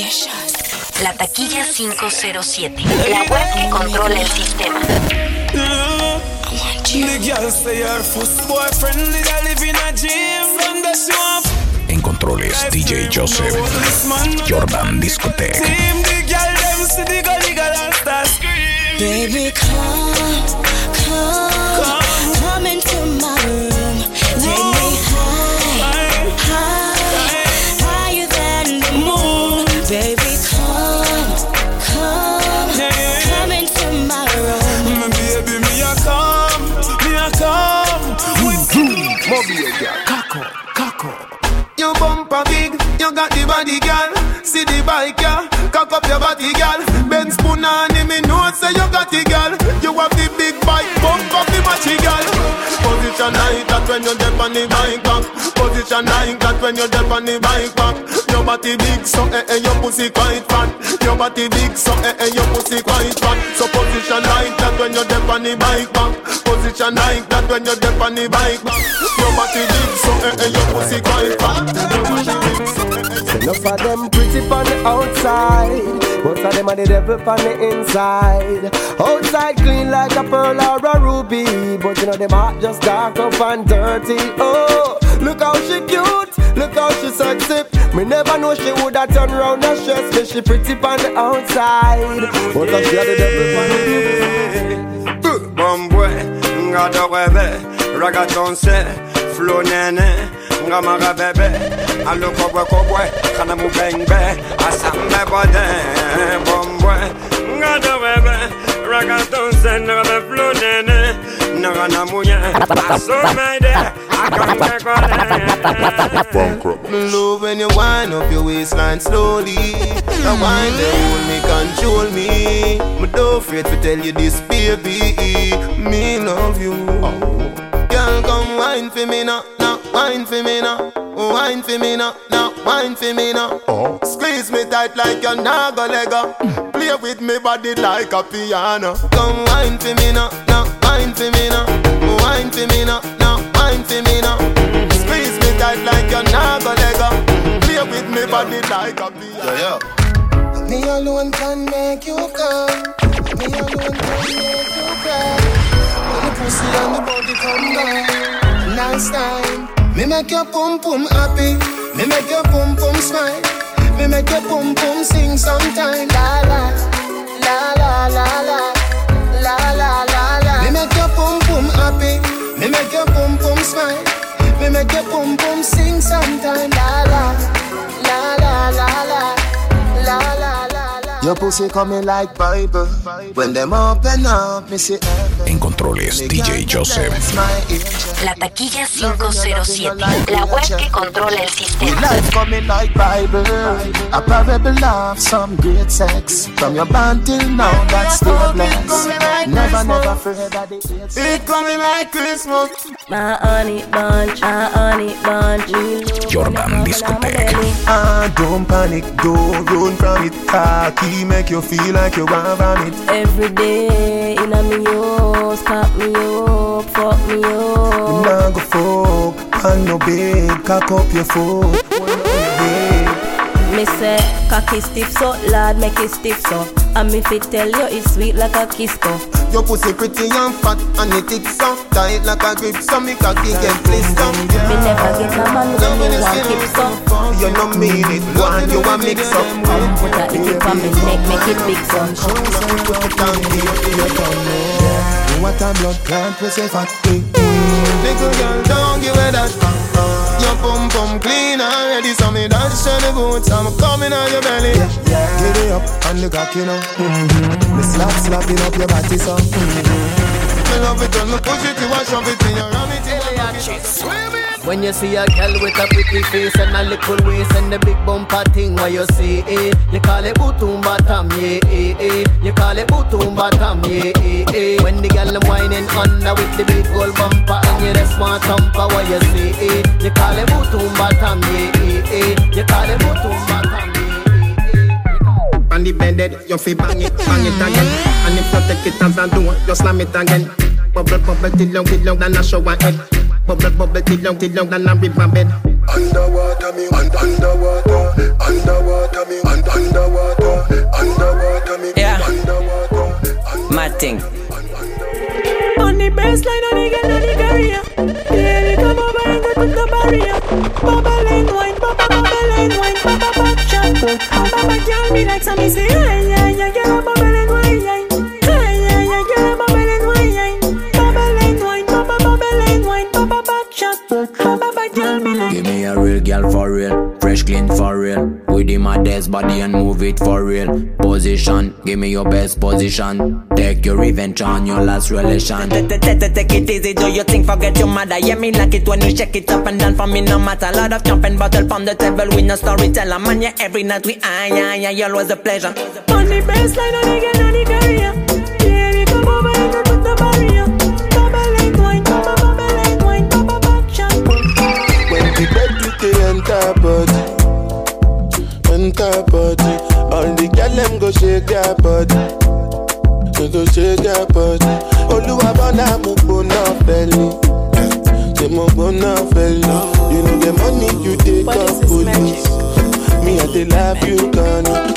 La taquilla 507. La web que controla el sistema. En controles DJ Joseph. Jordan Discotech. Baby, come into my room. Take me higher than the moon. Baby, come into my room. Baby, me a come. Kako. You bumper big, you got the body, girl. See the bike, yeah. Cock up your body, girl. Ben spoon on him, me know say you got it, girl. You have the big bike, bump up the matchy, girl. Position like that when you dip on the bike back. Position like that when you dip on the bike back. Your body big, so your pussy quite fat. Your body big, so your pussy quite fat. So position like that when you dip on the bike back. Position like that when you dip on the bike back. Your body big, so your pussy quite fat. Enough of them pretty on the outside, most of them are the devil on the inside. Outside clean like a pearl or a ruby, but you know them heart just dark up and dirty. Oh, look how she cute, look how she sexy. Me never know she woulda turn round and stress me. She pretty on the outside, but she are the devil on the inside. Bon boy, ngada webe, ragaton se, flow nene. Ngamara bebe, alo kobwe, kana mu bengbe, asambe bode, bombwe. Ngada webe, ragaton sen, ngame flow nene, ngana muye, asomede, akambe kole. Love when you wind up your waistline slowly. The wine they hold me, control me. Me don't afraid to tell you this, baby. Me love you. Girl, come wine for me now. Wine for me now, wine for me now, wine for me now. Squeeze me tight like a naga lega. Play with me body like a piano. Come wine for me now, wine for me now, wine for me now, wine for me now. Squeeze me tight like a naga lega. Play with me body like a piano. Me alone can make you come. Me alone can make you cry. When the pussy and the body come down, nice time. Me make your pum pum happy. Me make your pum pum smile. Me make your pum pum sing sometime. La la, la la la la, la la la la. Me make your pum pum happy. Me make your pum pum smile. Me make your pum pum sing sometime. La la, la la la la, la la la. Your pussy coming like Bible. When them open up, me see heaven. En controles DJ Joseph. La taquilla 507. La web que controla el sistema. Life coming like Bible. A parable of some great sex. From your band till now, that's still blessed. Never fear that it coming like Christmas. My honey bunch, Jordan Discotech. Don't panic, don't run from it. Cocky make you feel like you want vomit. every day in a me house, cock me up, fuck me up. Nah go fuck, and no bed, cock up your foot. Me say, cocky stiff so, lad make it stiff so. And me fit tell you it's sweet like a kiss go. Your pussy pretty and fat and it thick so. Tight like a grip so me cocky get blister. Me never get a man when me want keep so. You no mean it, one you a mix up. Put a tip on me neck, make it big so. What a blood clot we say fat. Little girl don't give it that. Your pum pum clean already, so me dance to the boots. I'm coming on your belly. Get it up and the cock, you know. Me slapping up your body, so. Me love it when me push it, you wash up it in your ram it in your When you see a girl with a pretty face and a little waist and the big bumper thing, what you see, eh? You call it bootum bottom, yeah, eh, eh. You call it bootum bottom, yeah, eh, eh. When the girl whining under with the big gold bumper and you the smart thumper, what you see, eh? You call it bootum bottom, yeah, eh, eh. You call it bootum bottom, yeah. On the bed, you feel bang it again. And if you take it as a door, you slam it again. Bubble, bubble, till long, then I show my head. Bubble, bubble, till long, then I rip my bed. underwater me, underwater me, underwater me, yeah. Underwater. Mad thing. On the baseline, on the girl, on the career. Baby, come over and go put the barrier. Bubble and wine, bubble and wine, bubble back shot. Bubble girl be like some easy. Yeah, girl, bubble and wine, yeah, girl, bubble and wine, bubble and wine, bubble back shot. Bubble girl be like. Give me a real girl for real, fresh clean for real. With the maddest body and move it for real. Position, give me your best position. Take your revenge on your last relation. Take it easy, do your thing, forget your mother. Yeah, me like it when you shake it up and down for me, no matter. Lot of jumping bottle from the table, we no storyteller. Man, yeah, every night we yeah, always a pleasure. On the baseline, on the girl, on the career. Baby, come over and go put the barrier. Bubble and wine, bubble back shot. When the bed with the entire body, all the girl them go shake their body. They go shake their body. Oluwa bona mo bona belly. They mo bona belly. You know the money you take off police. Me I dey love you gonna.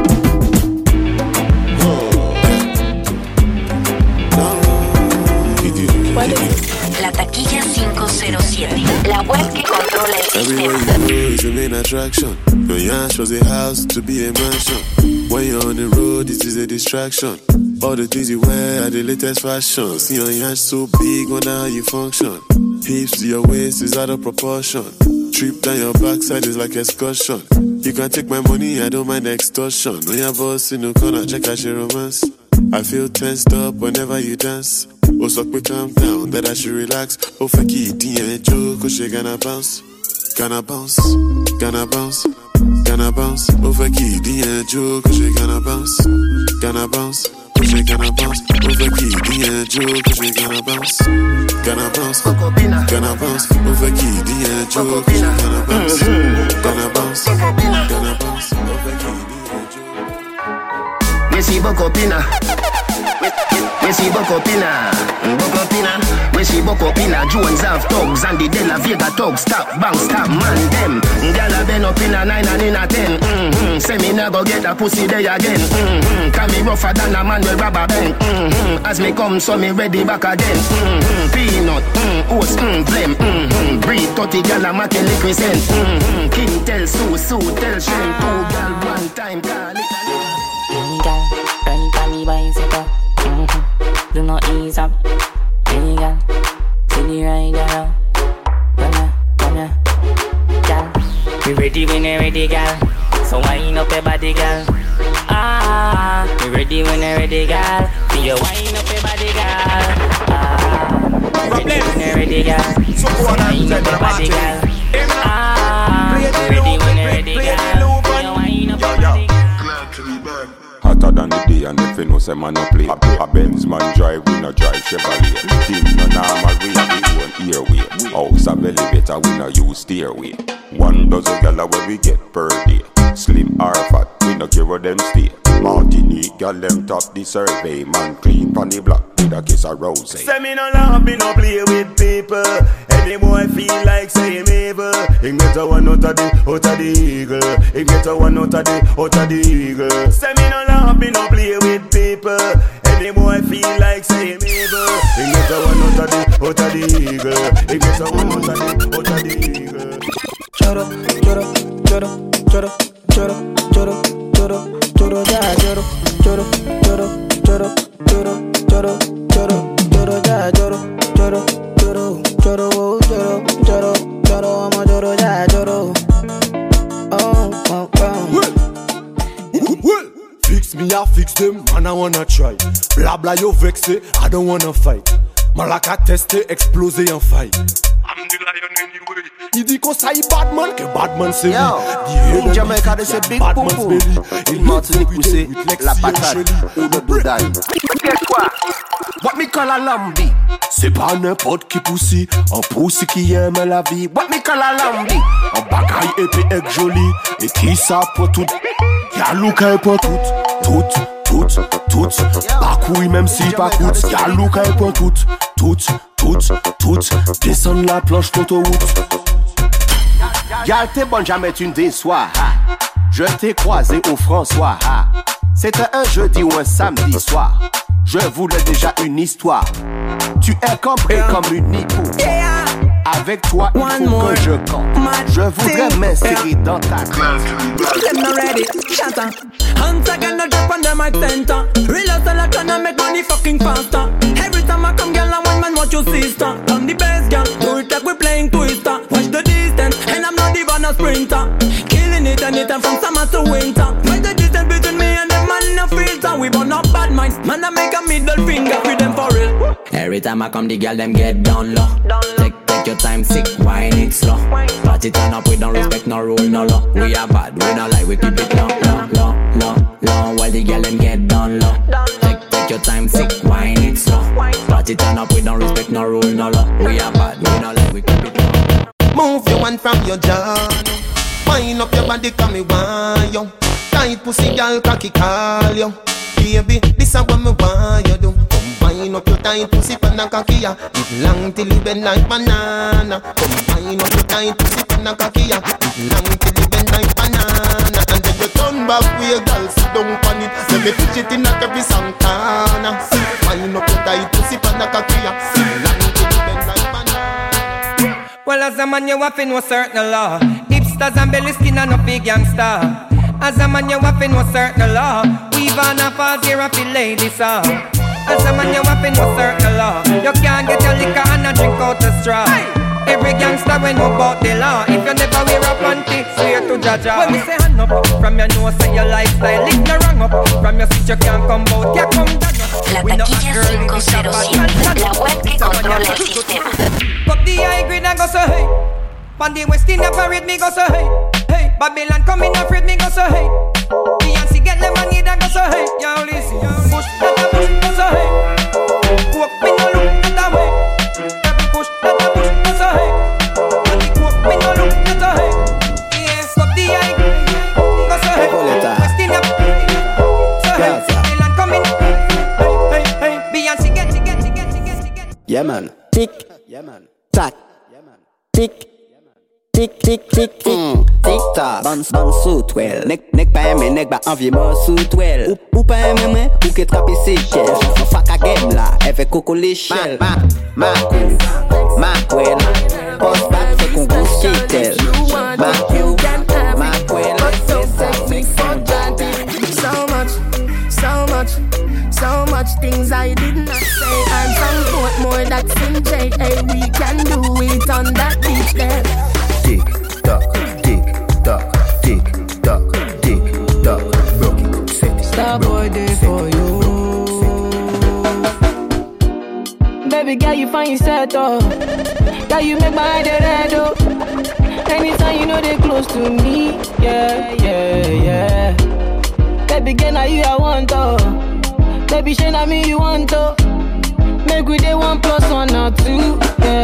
La taquilla 507, la web que controla el sistema. Everywhere you go is your main attraction. Your yash was a house to be a mansion. When you're on the road, it is a distraction. All the things you wear are the latest fashion. See your yash so big, wonder how you function. Hips to your waist is out of proportion. Trip down your backside is like excursion. You can take my money, I don't mind extortion. When your boss in the corner, check out your romance. I feel tensed up whenever you dance. Oh, suck me calm down, that I should relax. Oh, fuck it, yeah, joke, oh, she gonna bounce. Gonna bounce, gonna bounce, gonna bounce. Oh, fuck it, yeah, joke, oh, she gonna bounce. Gonna bounce, oh, she gonna bounce. Oh, fuck it, yeah, joke, oh, she gonna bounce. Gonna bounce, gonna bounce. Oh, fuck it, yeah, joke, oh, she gonna bounce. Gonna bounce, gonna bounce. Oh, fuck it, yeah, joke. We see Bokopina. We see Bokopina. We see Bokopina. Jones have thugs and the De La Vega thugs. Stop, bang, stop, man, them. Gyal been up in a 9 and in a 10. Say me never get a pussy day again. Can me rougher than a man with rubber band. As me come, so me ready back again. Peanut, oats, blem. Breed 30 gyal a make liquid scent. King tell Sue tell Shem. 2 gyal one time, call it. Girl, ride on the bicycle. Do not ease up. Hey girl, see the ride around. Come here, girl. We ready when you're ready, girl. So wind up your body, girl. We ready when you're ready, girl. See you wind up your body, girl. We ready when you're ready, girl. So wind up your body, girl. We ready when you're ready, girl. See you wind up your body, girl. Hotter than the day and if you know say man no play. A Benz man drive, we no drive Chevrolet. Thing no normal, we have the own airway. House a belly better, we no use stairway. 1 dozen gala where we get per day. Slim or fat, we no care where them stay. Martinique, gal them top the survey. Man clean pon the block with a kiss of rose. Say me no laugh, me no play with people. Any boy feel like say him evil. He get a one out of the eagle. He get a one out of the eagle. Say me no laugh, me no play with people. Any boy feel like say him evil. He get a one out of the eagle. He get a one out of the eagle. Choro, choro, choro, choro, choro, choro, choro, choro, ya, choro, choro, choro, choro, choro, choro, choro, choro, ya, choro, choro, choro, choro, choro, choro, choro, I'm a choro, ya, choro. Fix me, I fix them, man, I wanna try. Bla bla, yo vexé, I don't wanna fight. Malaka testé, explosé en fight. I'm the lion anyway. Il dit qu'on ça y Batman, que Batman c'est lui. In Jamaica they say big poupou. In Martinique we say la patate ou le doudaille. Qu'est-ce quoi? What me call a lambi? C'est pas n'importe qui poussi, un poussi qui aime la vie. What me call a lambi? Un bagaille épais et joli, et qui ça pour tout? Y'a Luka pour tout. Pas couille même si pas coûte. Y'a Luka pour tout. Descendre la planche l'autoroute. Y'a t'es bonne, jamais tu ne déçois. Je t'ai croisé au François. C'était un jeudi ou un samedi soir. Je voulais déjà une histoire. Tu es compris comme une hippo. Avec toi, il faut que je compte. Je voudrais m'insérer dans ta classe. Them not ready, shut up. Hands again, no drop on them my center. Real selection and make money fucking faster. Every time I come, girl, I want man watch your sister. I'm the best girl, do it like we playing Twister. Watch the distance, and I'm not even a sprinter. Killing it anytime from summer to winter. Watch the distance between me and them man no filter. We burn up bad minds, man I make a middle finger with them for real. Every time I come, the girl them get down low. Take your time, sick, wine it slow. Party turn up, we don't respect no rule, no law. We are bad, we not like, we keep it low. While the girl them get down low. Take your time, sick, wine it slow. Party turn up, we don't respect no rule, no law. We are bad, we not like, we keep it low. Move your hand from your jaw. Wind up your body, come me want you. Tight pussy, girl, cocky call you. Baby, this is what me want you do. Combine up your tight pussy, panna cocky ya. It long till you bend like banana. Combine up your tight pussy, panna cocky ya. It long till you bend like banana. And then you turn back with your girl, sit down on it. Let me pitch it in a every Santana. Wind up your tight pussy, panna cocky ya. It long till you bend like banana. Well, as a man, you have to know certain law. Hipsters and belly skin and no big gangster. As a man, you have to know certain law. We've on a falls here and feel ladies off. As a man, you have to know certain law. You can't get your liquor and a drink out the straw. Every gangster we know about the law. If you never wear a panty, swear to Jaja. When we say hand up, from your nose say your lifestyle is no wrong up. From your seat you can't come out, you come down. La taquilla 507, la web que controla el sistema. Pop the high grade and go so hey. Pan the West Indian parade me go so hey. Hey, Babylon coming afraid me go so hey. Beyonce get the money that go so hey. Yo, listen, push that a push go so hey. Walk me no look that way. Every push that a push go so hey. And the walk me no look that so hey. Yeah, pop the high grade go so hey. West Indian so hey. Babylon coming hey hey. Beyonce get. Yeah man. Tick. Yeah man. Tack. Yeah man. Tick. Tick, tick, tick, tick, tick tock. Ban sous twel. Nek pa eme, nek ba anvye mo sous twel. Ou pa eme mwen, ou ke trape se kel. Fak a game la, eve koko l'echel. Makou, makwel. Post back se kon gous kitel. Makou, makwel. So much things I did not say. I'm some foot more that's in J.A. We can do it on that beach there. Tick tock, tick tock, tick tock, tick tock. Broke it, set it. Star boy day for you. Baby girl, you find yourself oh. Girl, you make my head red oh. Anytime you know they close to me, yeah. Baby girl, now you I want oh. Baby, shey na me you want to. Make we dey 1 + 1 or 2.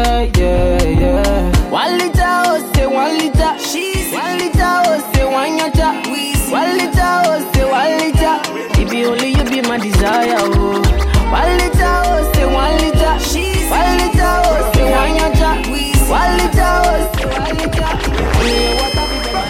Yeah. 1 liter, oh say 1 liter. 1 liter, oh say 1 yacha. 1 liter, oh say 1 liter. It be only you be my desire, oh. 1 liter, oh say 1 liter. 1 liter, oh say 1 yacha. 1 liter, oh say 1 liter.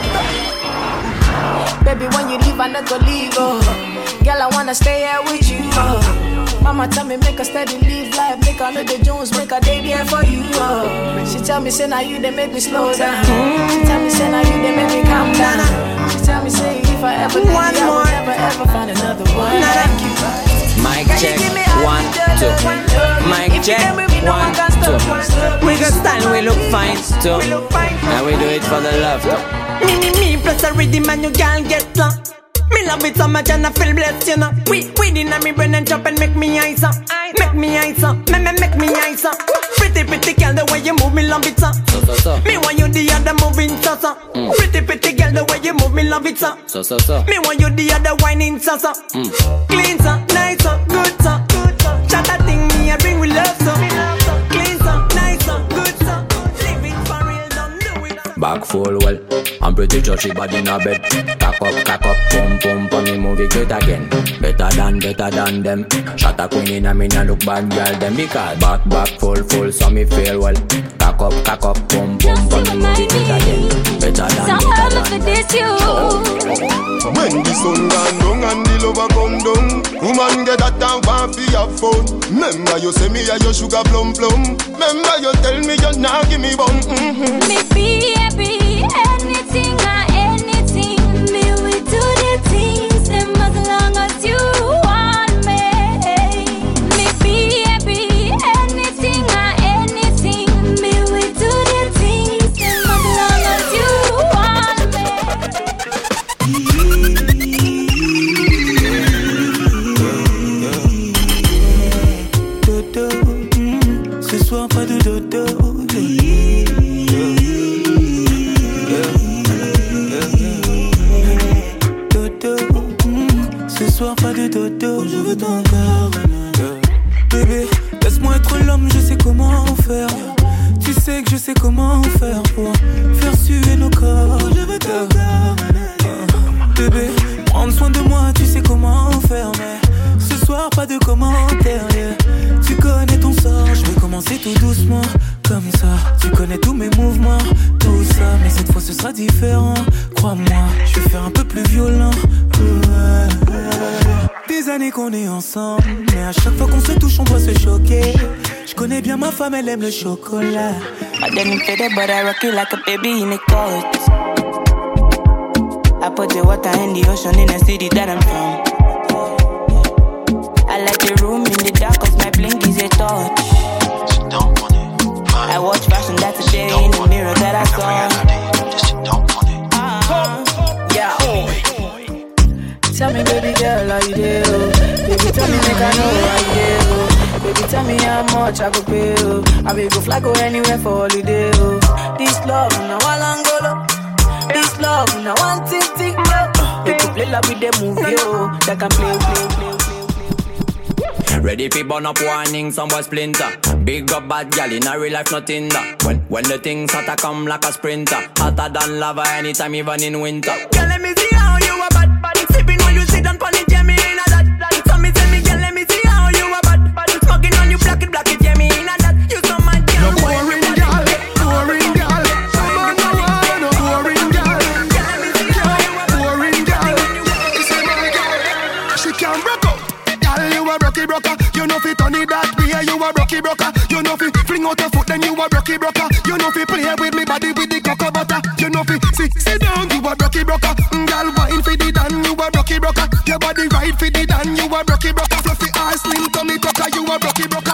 Baby, when you leave, I never leave, oh. Girl, I wanna stay here with you, oh. Mama tell me make a steady live life. Make her know the Jones, make a day there for you, oh. She tell me say now you they make me slow down. She tell me say now you they make me calm down. She tell me say if I ever leave you, I will never ever find another one like you. Mic check, 1, 2. Mic check, 1, 2. We got style, we look fine too. And we do it for the love. Me plus a rhythm and you can't get lost. Me love it so much and I feel blessed, you know. Weed in me brain and jump and make me eyes up. Make me eyes up, make me eyes up. Pretty girl, the way you move me love it so. Me want you the other moving so. Pretty girl, the way you move me love it so. Me want you the other whining so. Clean so, nice so, good so. Shut that thing me I bring with love so. Clean so, nice so, good so. Live it for real, don't do it. back full well. I'm pretty sure she body in a bed. Cock up, pum pum, pum me move it great again. Better than them. Shot a queen in a me nah look bad girl them. Because back full, so me feel well. Cock up, pum pum, pum me move it great again. Better than them. When the sun gone down and the lover come down, woman get that and want fi have fun. Remember you say me a your sugar plum. Remember you tell me you nah give me bun. Me be happy, anything or anything. Me we do the things, them as long as you want me. Me be happy, anything or anything. Me we do the things, them as long as you want me. Dodo, ce soir pas de dodo. Pas de dodo, je veux ton corps. Bébé, laisse-moi être l'homme, je sais comment faire. Tu sais que je sais comment faire pour faire suer nos corps. Je veux ton corps. Bébé, prendre soin de moi, tu sais comment faire. Mais ce soir, pas de commentaires. Yeah. Tu connais ton sort, je vais commencer tout doucement. Comme ça, tu connais tous mes mouvements, tout ça. Mais cette fois ce sera différent. Crois-moi, je vais faire un peu plus violent. Des années qu'on est ensemble, mais à chaque fois qu'on se touche, on doit se choquer. Je connais bien ma femme, elle aime le chocolat. I didn't fit it, but I rock it like a baby in a coat. I put the water in the ocean in the city that I'm from. I like the room in the dark, cause my blink is a torch. I watch fashion, that's a day in the mirror that I saw. Yeah. Tell me, baby girl, how you do? Baby, tell me, make I know how you do. Baby, tell me how much I go pay. I will go fly, go anywhere for holiday. This love, now one Angola. This love, now one tick. They could play like with the movie, that can play. Ready fi burn up warning, some boy splinter. Big up bad gal in a real life, nothing that. When the things hotter come like a sprinter. Hotter than lava anytime, even in winter. Girl, let me see how you a bad. Sipping when you sit down pon it, yeah, me in a that. So me tell me, girl, let me see how you a bad. Smoking on you, black it, yeah, me in a that. You so mad, girl. Boring girl. Boring girl. She can't broke up. Girl, you a rocky broker. You know fi turn it that way. You a rocky broker. You know fi fling out your foot, then you a rocky broker. You know fi play with me body with the cocoa butter. You know fi sit down. You a rocky broker. Girl, wine fi the dan. You a rocky broker. Your body right fi the dan. You a rocky broker. Fluffy ass, slim tummy tucker. You a rocky broker.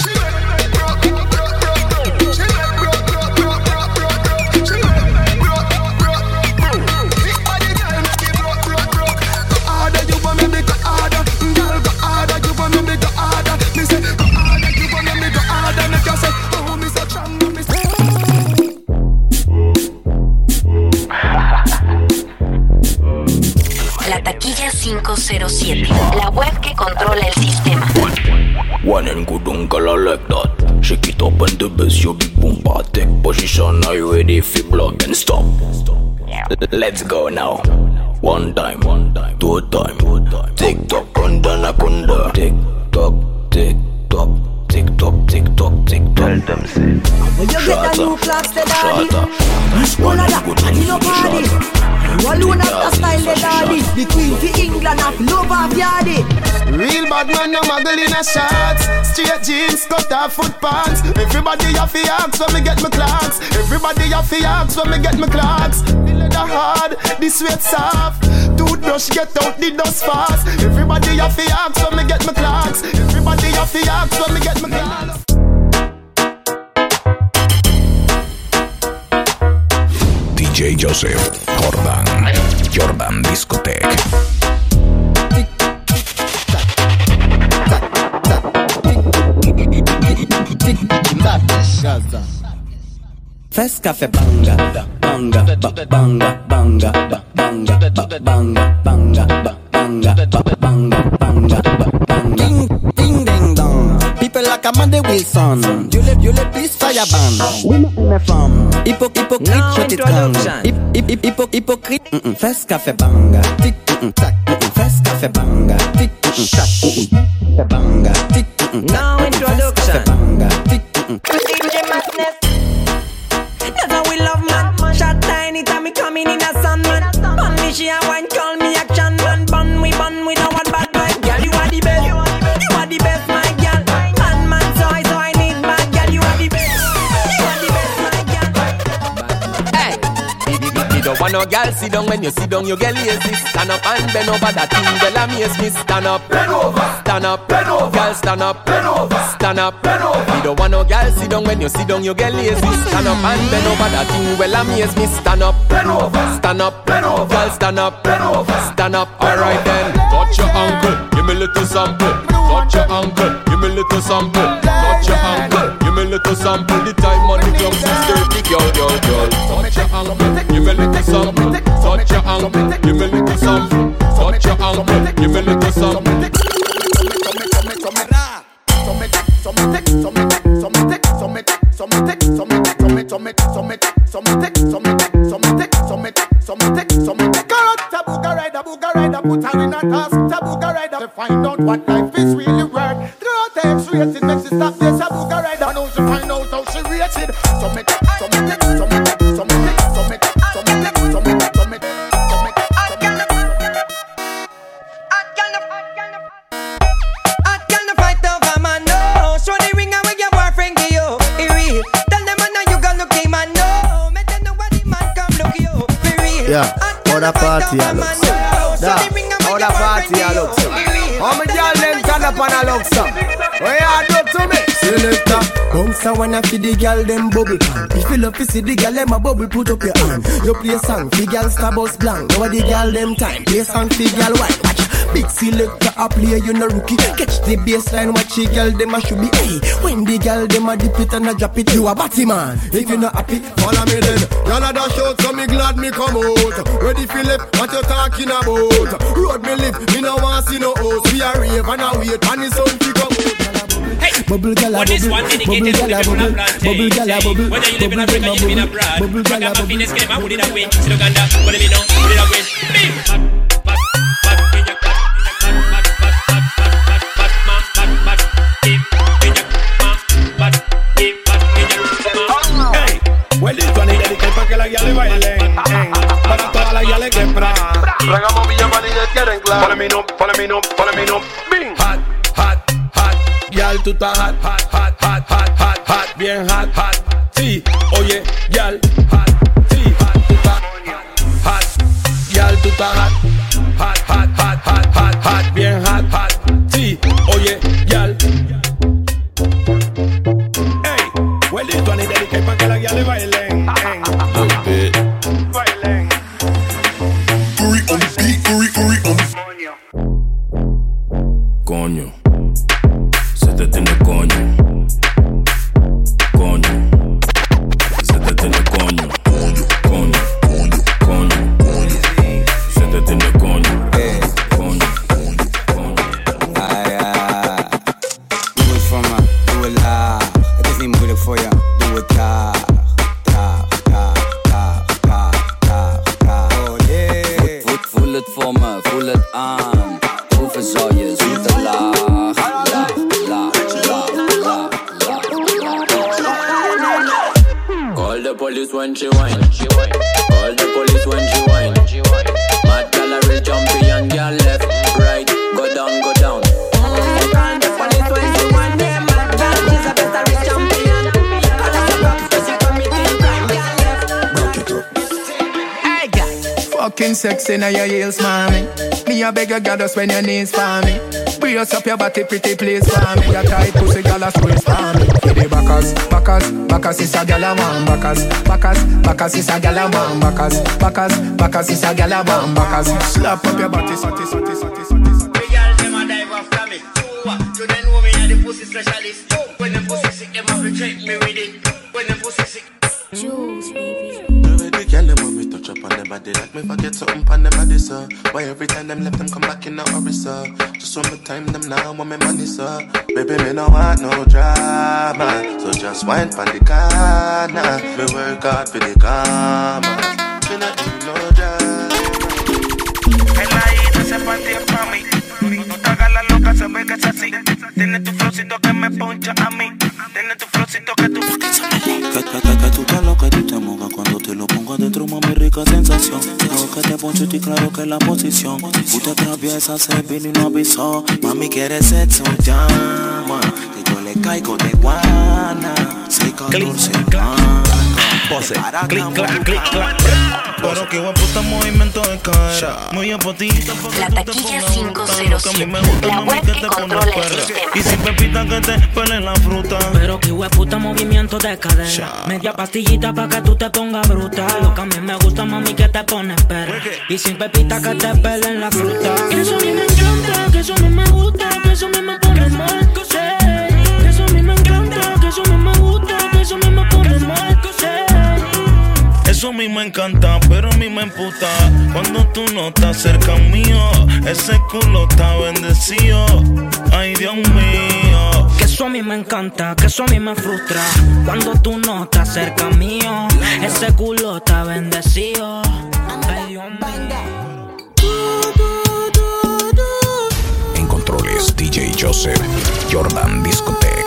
La taquilla 507, la web que controla el sistema. One and good uncle like that. Shake it up and the bass, your big boom part. Take position, are you ready for block and stop? Let's go now. One time, two time. Tick tock, kunda. Tick tock, tick tock. Tick tock. Tell them say. When you get a new clocks, the daddy. One of that, and you know party. You alone have the style, the daddy. The queen for England, have love of yardy. Real bad man, no muggle in a shorts. Straight jeans, cut off foot pants. Everybody have to ask when me get my clocks. Everybody have to ask when me get my clocks. The leather hard, the sweat soft. Toothbrush get out the dust fast. Everybody have to ask when me get my clocks. Everybody have to ask when me get my clocks. DJ Joseph, Jordan Discotheque. Fes café banga, banga, banga, banga, banga, banga, banga, banga, ding, ding, ding, dong. People like Amanda Wilson. You le plus fire ban. We me from hypocrite shut it down. Hypocrite first cafe banga. Tick tack first cafe banga. Tick tack banga. Tick now introduction. Banga. Tick that's how we love man. Shot tiny time me coming in a sun man. Bun me she a wine call me action man. Bun we no one bad man. Girl you are the best. You are the best my girl. Man so I need bad girl. You are the best. You are the best my girl. Hey, you don't want no girl sit down when you sit down you get lazy. Stand up and bend over that thing. Well amaze me. Stand up, bend over. Stand up, bend over. Girl stand up, bend over. Stand up, bend over. You don't want no girl sit down when you sit down you get lazy. Stand up and bend over that thing. Well amaze me. Stand up, bend over. Stand up, bend over. Girl stand up, bend over. Stand up. Alright then. Touch your ankle, give me little sample. Touch your ankle, give me little sample. Touch your ankle, give me little sample. The time on the club is dirty, girl. Touch your ankle, give me little sample. Touch your ankle, give me little sample. Touch your ankle, give me little sample. Put her in a task, Tabuga rider to find out what life is really worth. Throw out the X-rated, makes it stop this Tabuga rider. And how she find out how she rated. Yeah, other party I look so. Other party I look so. How many y'all them turn up and I look so? Where you do to me? Selector, bounce when I feed the girl them bubble pan. If you love to see the girl them a bubble, put up your hand. You play a song, the girl star bus blank. Now the girl them time, play a song, the girl white. Watch, big selector a play, you no rookie. Catch the baseline, watch the girl them a should be. Hey, when the girl them a dip it and a drop it, you a batty man. If you not happy, follow me then. Y'all a dash out, so me glad me come out. Ready Philip, what you talking about? Road me live, me no want see no house. We a rave and a wait, and the sun pick up. Hey, bubble gala bubble, bubble gala bubble, bubble gala bubble. Whether you live in Africa, you live in abroad. Bubble gala bubble. Fitness get my booty that way. See Uganda, what do we know? Put it away. Hey, well this one is dedicated para que la guía le bailen. Para todas las guías le quebra. Tragamos Villa María, quieren claro. Follow me no. Bing. Hot. Yal, tú estás hot, bien hot. Sí, oye, yal, hot, sí, hot, tú estás hot. Yal, tú estás hot, bien hot. Sí, oye, yal. Hey, well this one is dedicated para que la guía le bailen. Bailen. Coño. Se te tiene coño. Se te tiene coño. Se te tiene coño. Do it for me, do it loud. I just need moeilijk voor je. Doe het traag. Oh yeah. Voel het voor me, voel het aan. Proeven zal je zoete laag. Call the police when she whine. Call the police when she whine. Mad gallery champion, girl left, right, go down. Call the police when she whine. Yeah, mad girl, she's a gallery champion. Call the cops 'cause she committing crime, girl left. Broke it up. Hey, girl. Fucking sexy now your heels, mommy. Me a beg you, girl, just when your knees for me. Brace up your body, pretty please for me. Your tight pussy, girl, a squeeze for me. For the backers is a girl a want backers is a girl a want backers is a girl a want backers. Slap up your body, The girl them a dive after me. You then know me a the pussy specialist. When them pussy sick, them have to check me with it. When them pussy sick. Juice, baby. The girl them want me touch up on them body like me forget something on them body, sir. Why every time them left them come back in a hurry, sir? Just one more time them now want me money, sir. Baby, me no want no drama, so just wine pon the corner. Me work hard for the karma. Me not do no drama. El ahí no se partía pa' mí. No te hagas la loca, se ve que es así. Tiene tu flowcito que me poncha a mí. Tiene tu flowcito que tú... Que tú te lo que tú te mojas cuando te lo pongo adentro, mami, rica sensación. Claro que te poncho y claro que la posición. Tú te atraviesas, se vino y no avisó. Mami, quieres sexo, llama. Que yo le caigo de guana. 6-14 pose, clic, clac, clic, clac. Pero que puta movimiento de cara. Muy a potito. La taquilla 507. La web que controla el sistema. Y sin pepita que te pele la fruta. Pero que puta movimiento de cadera. Media pastillita pa' que tú te pongas bruta. Lo que a mí me gusta, mami, que te pones perra. Y sin pepita que te pelen la fruta. Que eso a mí me encanta, que eso a mí me gusta, que eso a mí me pone mal. Que eso a mí me encanta, que eso a mí me gusta, que eso a mí me pone mal. Eso a mí me encanta, pero a mí me emputa cuando tú no estás cerca mío. Ese culo está bendecido. Ay, Dios mío. Que eso a mí me encanta, que eso a mí me frustra cuando tú no estás cerca mío. Ese culo está bendecido. Ay, Dios mío. En controles, DJ Joseph, Jordan Discotech.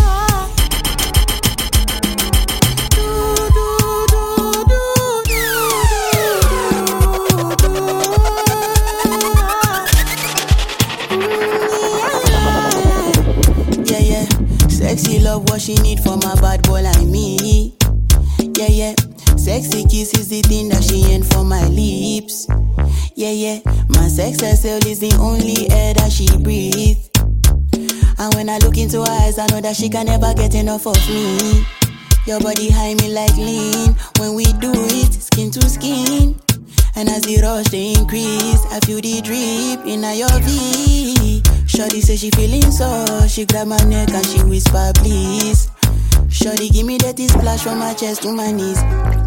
Sexy love what she need from a bad boy like me. Yeah, yeah. Sexy kiss is the thing that she ain't for my lips. Yeah, yeah. My sex herself is the only air that she breathes. And when I look into her eyes, I know that she can never get enough of me. Your body high me like lean. When we do it, skin to skin. And as the rush they increase, I feel the drip in your V. Shorty say she feeling so, she grab my neck and she whisper please. Shorty give me that splash from my chest to my knees.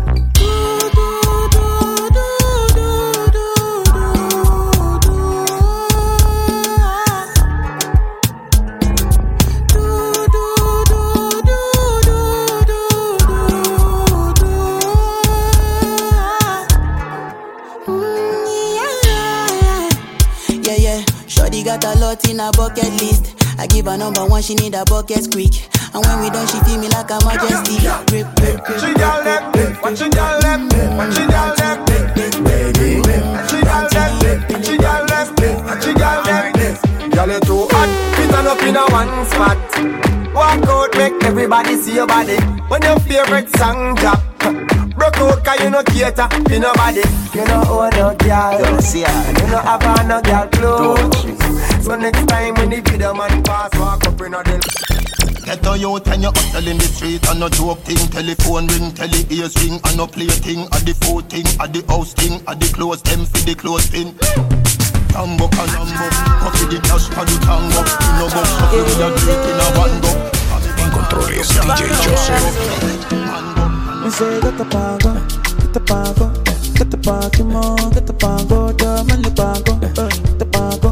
Got a lot in her bucket list. I give her number one, she need a bucket quick. And when we done, she feel me like a majesty. Grip, grip, grip. She got left, what she got left, what she got left, baby. She got left, she got left, she got left. Girl, you too hot, fit on up in a one spot. Walk out, make everybody see your body. When your favorite song drop, broke out 'cause you no cater to nobody. You know own no girl, and you no have on no girl clothes. So next time when the video man pass, walk up in a the. Get a youth and you hustle in the street and no joke thing. Telephone ring, tele ears ring and no play thing. At the food thing, at the house thing, at the clothes them for the clothes thing. Tambo canambo, coffee the cash for the tango. You know box coffee with a drink in a one go. En controles, DJ Joseph. Me say get the pago, get the pago, get the pago, mo, get the pago, yo me le pago, get the pago.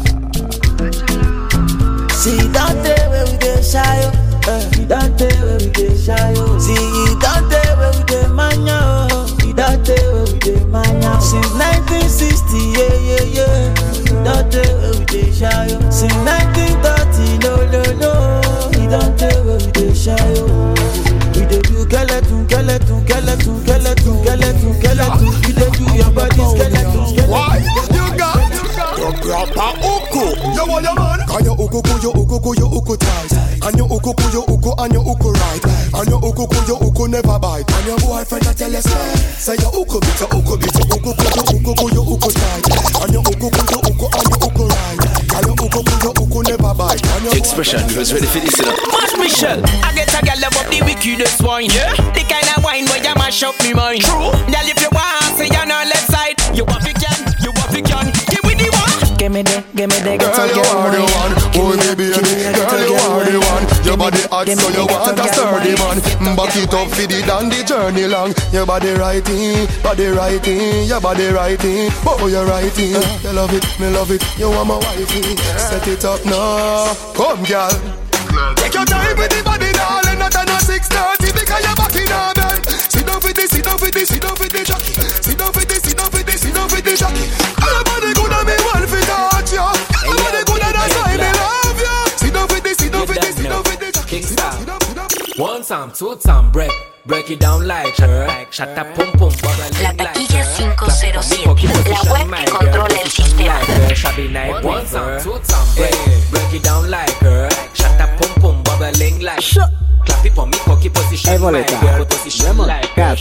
See that day where we get shy, that day where we get shy. See that day where we get mania, that day where we get mania. Since 1960, yeah, yeah, yeah. That day where we get shy. Since 1930, no, no, no. That day where we get shy. We dey do skeleton, skeleton, skeleton, skeleton, skeleton, skeleton. We dey do your body skeleton, skeleton. Why? You got your proper uku. You want your man? Can you uku, you uku tight. And you uku, and you uku right. And you uku never bite. And your boyfriend a tell you say you uku bit, you uku tight. And you uku, and you uku right. And you uku never bite. Expression, you was ready for this, you know. Mash Michelle, I get a girl love up the wickedest wine. Yeah, the kind of wine where you mash up me mind. True, girl if you want, say you're on left side. You want it can, give me the one. Give me the, girl, you are the one. Oh baby, girl, you are the one. Your body hard, so you want a sturdy man. Back it up for the dandy journey long. Your body righty, your body righty. Oh, you're righty. You love it, me love it. You want my wifey. Set it up now. Come, girl. Take your time with the body, darling. Not on a 6:30 because you're back in our bed. Sit down for this, sit down for this, sit down for this, sit down for this, sit down for this, sit down for this. Everybody good at me, one for touch you. Everybody good at us, I love you. Sit down for this, sit down for this, sit down for this. Kingstar. One time, two time, break it down like her. Shut up, pum pum. La taquilla 507, la web que controla el sistema. One time, two time, break it down like her. Shut up, pum pum, bubbling like. Clap it for me, cocky position, my girl, position like her.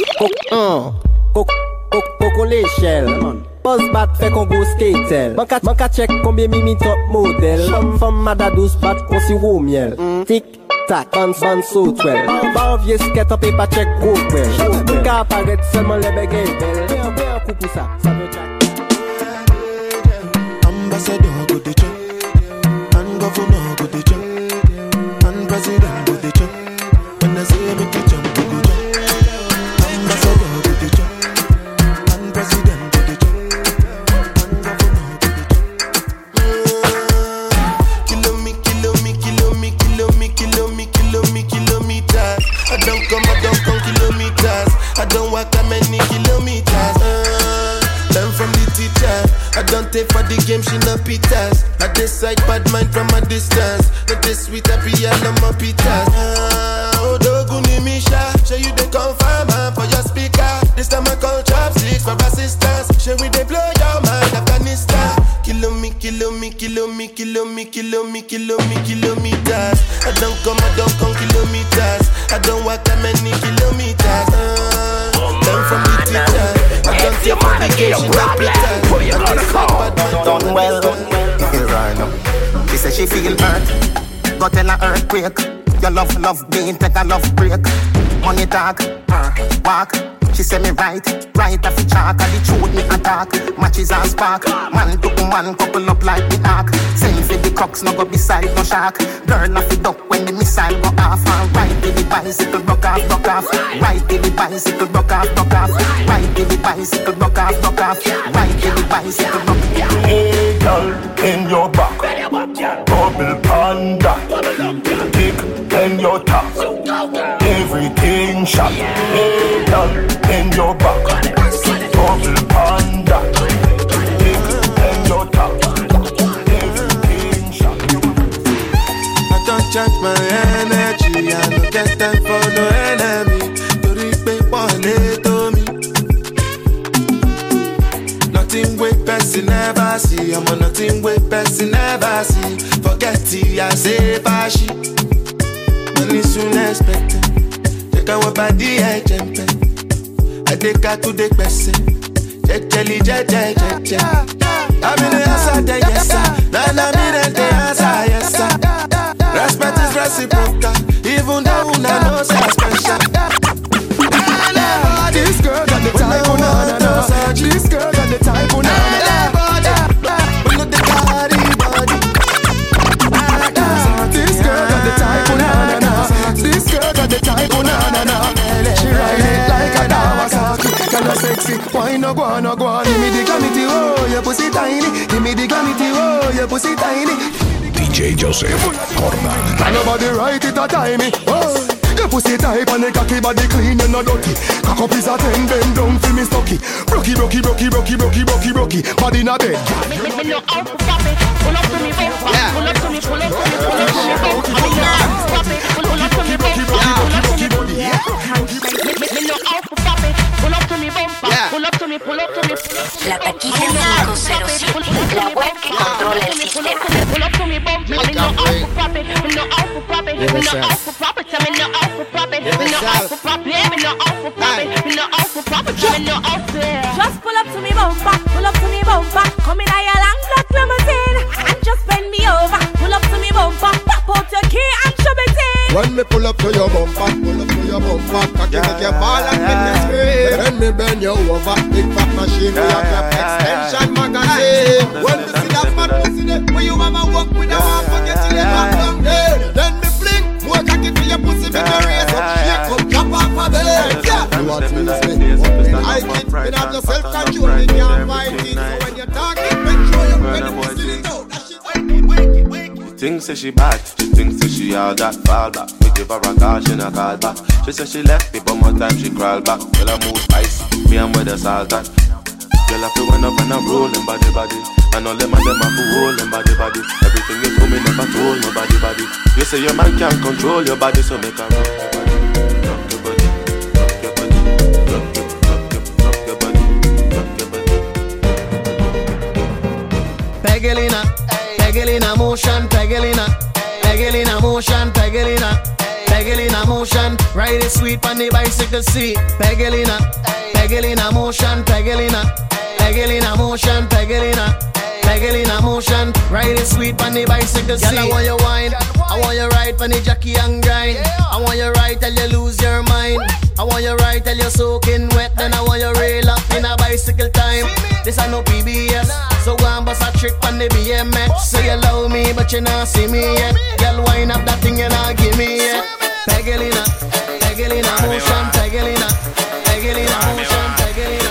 Coco l'échelle. Buzz bat fait qu'on go skatel. Manka check combien mimi top model. Femme mada douce bat qu'on si roux miel. Tic tac, ban so twel. Ban vieux skate up et pas check gros well. Manka apparaît seulement les bégayes belles. Fais un coup pour ça, ça veut dire. Ambassador go de check. And governor go de check. And president go de check. When I say me to jump, go jump. Ambassador go de check. And president go de check. And governor go de check. Kilometers. I don't come kilometers. I don't walk that many kilometers. Learn from the teacher. I don't take for the game, she no pitas. I decide bad mind from a distance. Not this sweet happy, I love my pitas. Oh, Doguni Misha, show you the confirm for your speaker. This time I call chopsticks for assistance. Show we they blow your mind, Afghanistan. Kilometers. I don't come kilometers. I don't walk that many kilometers. Learn from the teacher. I don't take for the game, she no pitas. Done well. Right now. She said she feel hurt. Got in an earthquake. Your love being take a love break. Money talk, walk. She say me right off the chalk. And the truth me attack. Matches and spark. Man to man couple up like the ark. Same for the crocks, no go beside no shark. Girl off the duck when the missile go off. And right to the bicycle, broke off. Right to the bicycle, broke off. Right to the bicycle, broke off. Right to the bicycle, broke off. Hey girl, in your back, bubble panda, dick in your top, everything shot. Hey girl, in your back, bubble panda, dick in your top, everything shot. I don't charge my energy, I don't get time for no enemy. To reach one to me. Nothing with person never see. I'm on nothing with person never see. Forget it, I say fashi. Money soon expected. Check out what body I jump. I take her to the person. Jelly. I'm in the answer, then yes sir. Then I'm in the answer, yes sir. Respect is reciprocal. Even though I know so special. This girl got the type of na. This girl got the type of na. This girl got the type of na. This girl got the type of na. She ride it like a Kawasaki. Kinda sexy, why no go on? Give me the glamity, oh, your pussy tiny. Give me the glamity, oh, your pussy tiny. DJ Joseph Corman. Can nobody write it a timey? Oh. Your pussy tight and the cocky body clean, you no dirty. Cock up is a 10, bend down for me stocky. Brocky, body in a bed. Me know how to pop it. Pull up to me, pull up to me. Pull up to me, La taquilla 507, la web que controla el sistema. Pull up to me, bump. Me know how to pop it. Me know how to pop it. Me know how to pop it. Me know how to pop it. Me know how to pop it. Me know how to pop it. Me know how to pop it. Me know how to. Just pull up to me, bumper. Pull up to me, bumper. Come in a long black limousine and just bend me over. Pull up to me, bumper. Pop out your key and shove it in. When me pull up to your bumper, cocky make your ball and make you scream. Then me bend you over, big fat machine, we have your extension magazine. When me see that fat pussy there, where you mama walk with a half, forget till you back from there. Then me fling, more cocky no self-control, you can't fight it. So when you're talking, make sure you're ready to sit it out. That shit wake. She thinks that she bad, she thinks that she all that fall back. We give her a call, she not call back. She said she left me, but more time she crawl back. Girl, I move spice, me and where the salt at. Girl, I feel when up and I'm rolling body. And all them and them have to hold them body. Everything you told me never told my body. You say your man can't control your body, so make her rock your body. Pegelina motion, Pegelina motion, ride it sweet on the bicycle seat. Pegelina motion, Pegelina motion, ride it sweet on the bicycle seat. Girl, I want you wine, I want you ride on the jockey and grind. I want you ride till you lose your mind. I want you ride till you're soaking wet. Then I want you rail up in a bicycle time. This ain't no PBS, so go and bust a trick on the BMX. So you love me, but you not see me yet. Girl, wind up that thing you not give me yet. Pegelina motion, Pegelina motion, Pegelina.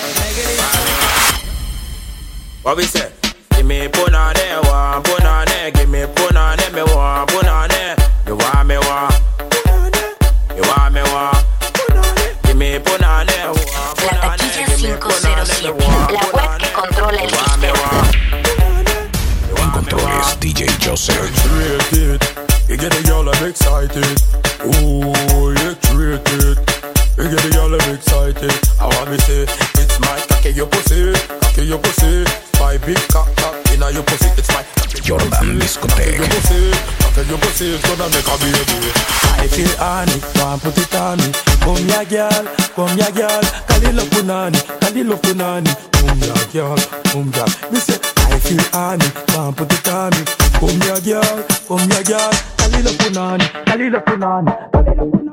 What we say? Give me punane, one punane. Give me punane, me one punane. You want me one? You want me one? Give me punane, one punane. La taquilla 507, la web que controla el sistema. En controles DJ Joseph. You get the girl I'm excited. Ooh, electric. You get the girl I'm excited. I want me say, it's my cocky your pussy. My big cock inna your pussy. It's my Jordan Discotheque. Your pussy is gonna make a baby. I feel honey, want put it on me. Come ya girl. Kalilo punani. Come ya girl. Me say I feel honey, want put it on me. Come ya girl. Kalilo punani.